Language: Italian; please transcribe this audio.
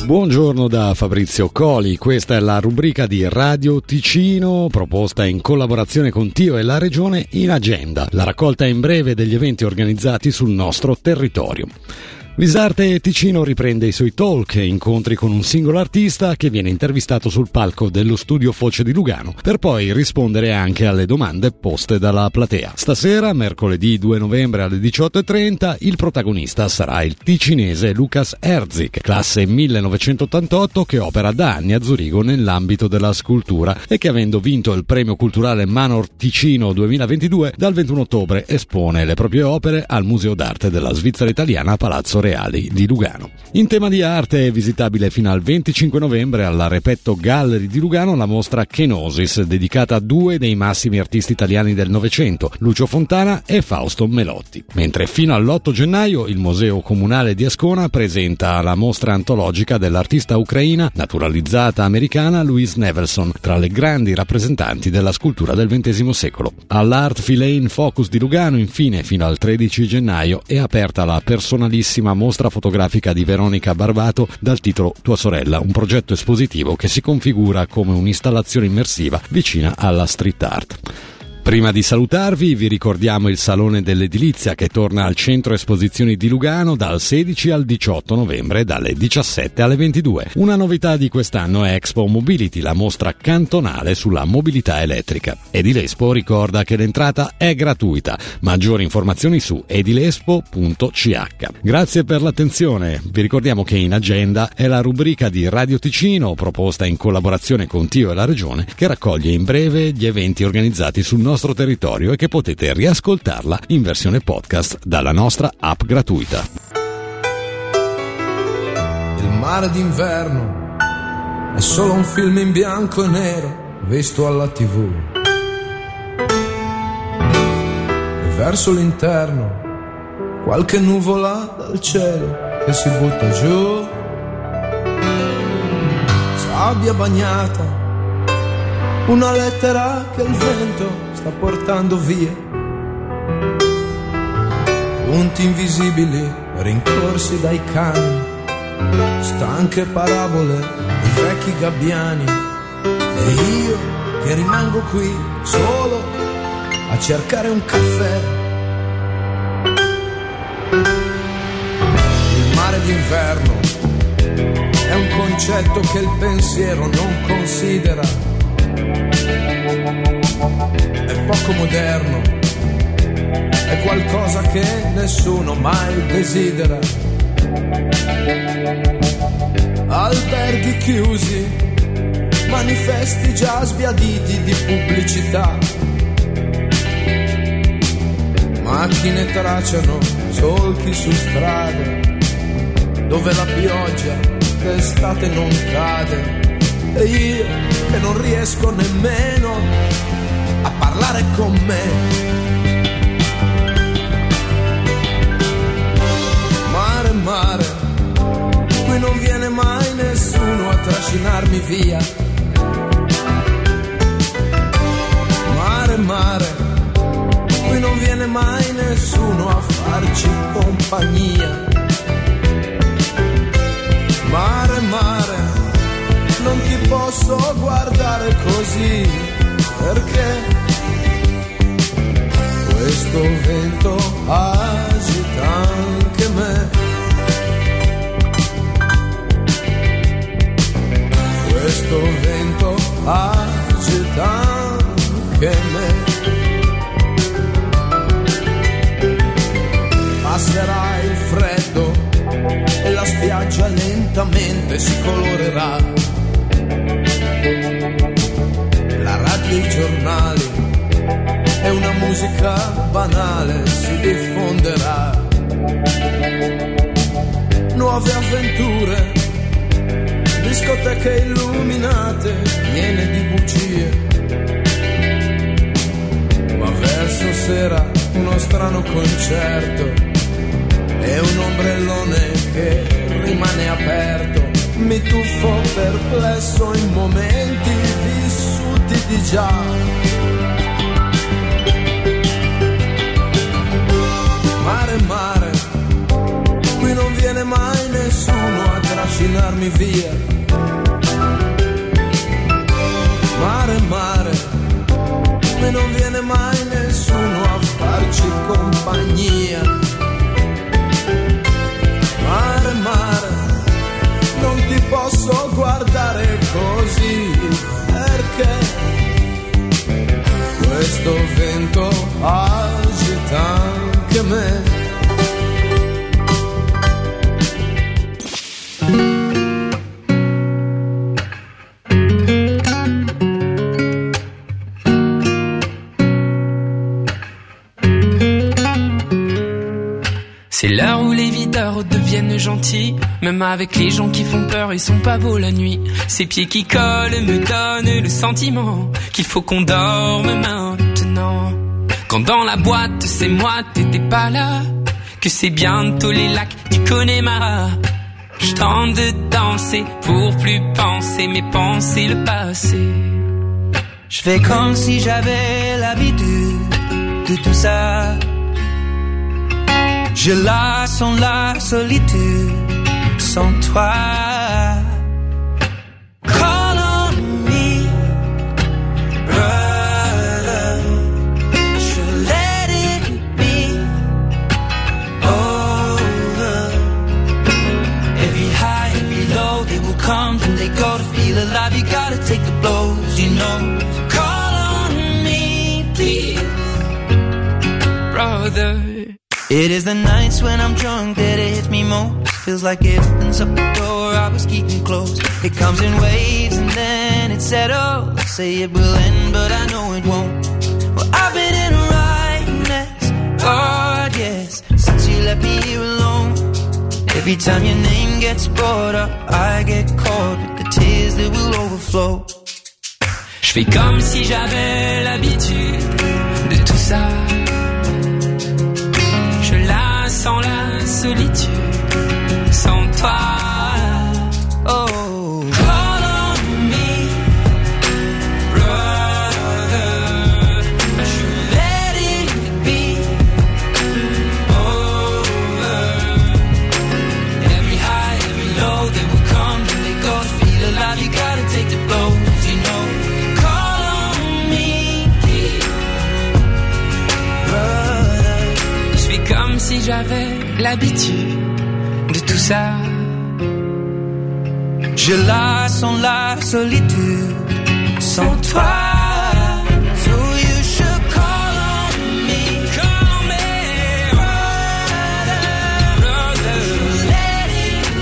Buongiorno da Fabrizio Coli, questa è la rubrica di Radio Ticino proposta in collaborazione con Tio e la Regione in Agenda, la raccolta in breve degli eventi organizzati sul nostro territorio. Visarte Ticino riprende i suoi talk e incontri con un singolo artista che viene intervistato sul palco dello studio Foce di Lugano per poi rispondere anche alle domande poste dalla platea. Stasera, mercoledì 2 novembre alle 18:30, il protagonista sarà il ticinese Lucas Herzik, classe 1988 che opera da anni a Zurigo nell'ambito della scultura e che, avendo vinto il premio culturale Manor Ticino 2022, dal 21 ottobre espone le proprie opere al Museo d'Arte della Svizzera Italiana a Palazzo Reali di Lugano. In tema di arte è visitabile fino al 25 novembre alla Repetto Gallery di Lugano la mostra Kenosis, dedicata a due dei massimi artisti italiani del Novecento, Lucio Fontana e Fausto Melotti. Mentre fino all'8 gennaio il Museo Comunale di Ascona presenta la mostra antologica dell'artista ucraina naturalizzata americana Louise Nevelson, tra le grandi rappresentanti della scultura del XX secolo. All'Art Filane Focus di Lugano, infine, fino al 13 gennaio è aperta la personalissima mostra fotografica di Veronica Barbato dal titolo Tua sorella, un progetto espositivo che si configura come un'installazione immersiva vicina alla street art. Prima di salutarvi vi ricordiamo il Salone dell'Edilizia che torna al Centro Esposizioni di Lugano dal 16 al 18 novembre dalle 17 alle 22. Una novità di quest'anno è Expo Mobility, la mostra cantonale sulla mobilità elettrica. Edilespo ricorda che l'entrata è gratuita. Maggiori informazioni su edilespo.ch. Grazie per l'attenzione. Vi ricordiamo che In Agenda è la rubrica di Radio Ticino proposta in collaborazione con Tio e la Regione che raccoglie in breve gli eventi organizzati sul nostro territorio e che potete riascoltarla in versione podcast dalla nostra app gratuita. Il mare d'inverno è solo un film in bianco e nero visto alla TV. E verso l'interno qualche nuvola dal cielo che si butta giù. Sabbia bagnata, una lettera che il vento sta portando via, punti invisibili rincorsi dai cani, stanche parabole di vecchi gabbiani, e io che rimango qui solo a cercare un caffè. Il mare d'inverno è un concetto che il pensiero non considera. È poco moderno, è qualcosa che nessuno mai desidera. Alberghi chiusi, manifesti già sbiaditi di pubblicità, macchine tracciano solchi su strade dove la pioggia d'estate non cade, e io che non riesco nemmeno a parlare con me. Mare, mare, qui non viene mai nessuno a trascinarmi via. Mare, mare, qui non viene mai nessuno a farci compagnia. Mare, mare, non ti posso guardare così, perché questo vento agita anche me. Questo vento agita anche me. Passerà il freddo e la spiaggia lentamente si colorerà. La radio e i giornali e una musica banale si diffonderà. Nuove avventure, discoteche illuminate, piene di bugie. Ma verso sera uno strano concerto e un ombrellone che rimane aperto. Mi tuffo perplesso in momenti vissuti di già. Mare, mare, qui non viene mai nessuno a trascinare trascinarmi via. Mare, mare, e non viene mai nessuno a farci compagnia. Mare, mare, non ti posso guardare così, perché questo vento agita anche me. C'est l'heure où les videurs deviennent gentils, même avec les gens qui font peur, ils sont pas beaux la nuit. Ces pieds qui collent me donnent le sentiment qu'il faut qu'on dorme maintenant. Quand dans la boîte c'est moi, t'étais pas là, que c'est bientôt les lacs du Connemara. Je tente de danser pour plus penser, mais penser le passé. Je fais comme si j'avais l'habitude de tout ça. Je la sens la solitude sans toi. Call on me, brother. Should let it be over. Every high, every low, they will come and they go. To feel alive, you gotta take the blows, you know. Call on me, please, brother. It is the nights when I'm drunk that it hits me most. Feels like it opens up the door I was keeping closed. It comes in waves and then it settles. Say it will end but I know it won't. Well, I've been in a right mess, God yes, since you left me here alone. Every time your name gets brought up, I get caught with the tears that will overflow. Je fais comme si j'avais l'habitude de tout ça. Je la sens la solitude sans toi. Oh, call on me, brother. I should let it be over. Every high, every low, they will come and they go. To feel alive, you gotta take the blows, you know. Call on me, brother. Je fais comme si j'avais l'habitude de tout ça. je la sens la solitude sans toi.